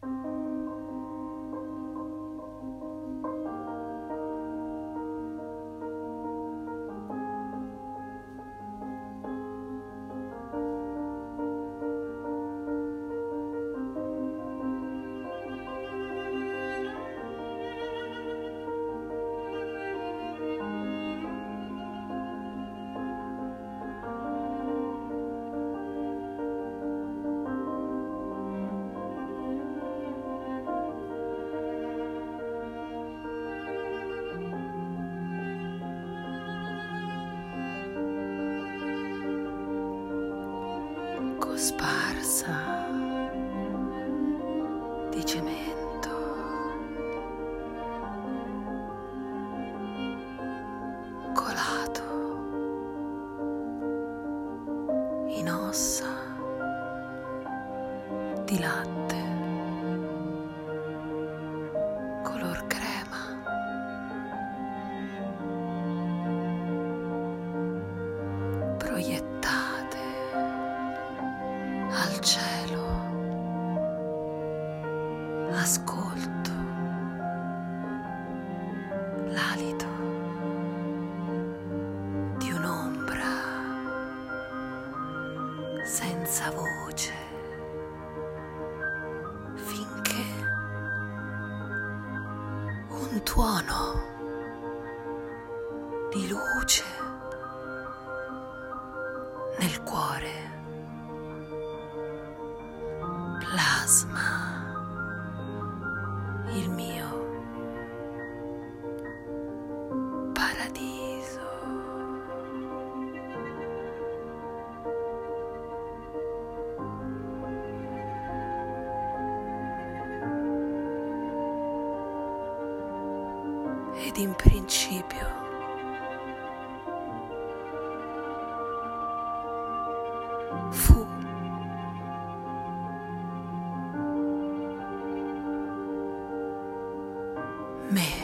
Cosparsa di cemento, colato in ossa di latte color crema, proiettate al cielo. Ascolto l'alito di un'ombra senza voce, finché un tuono di luce nel cuore plasma il mio paradiso. Ed in principio fu me.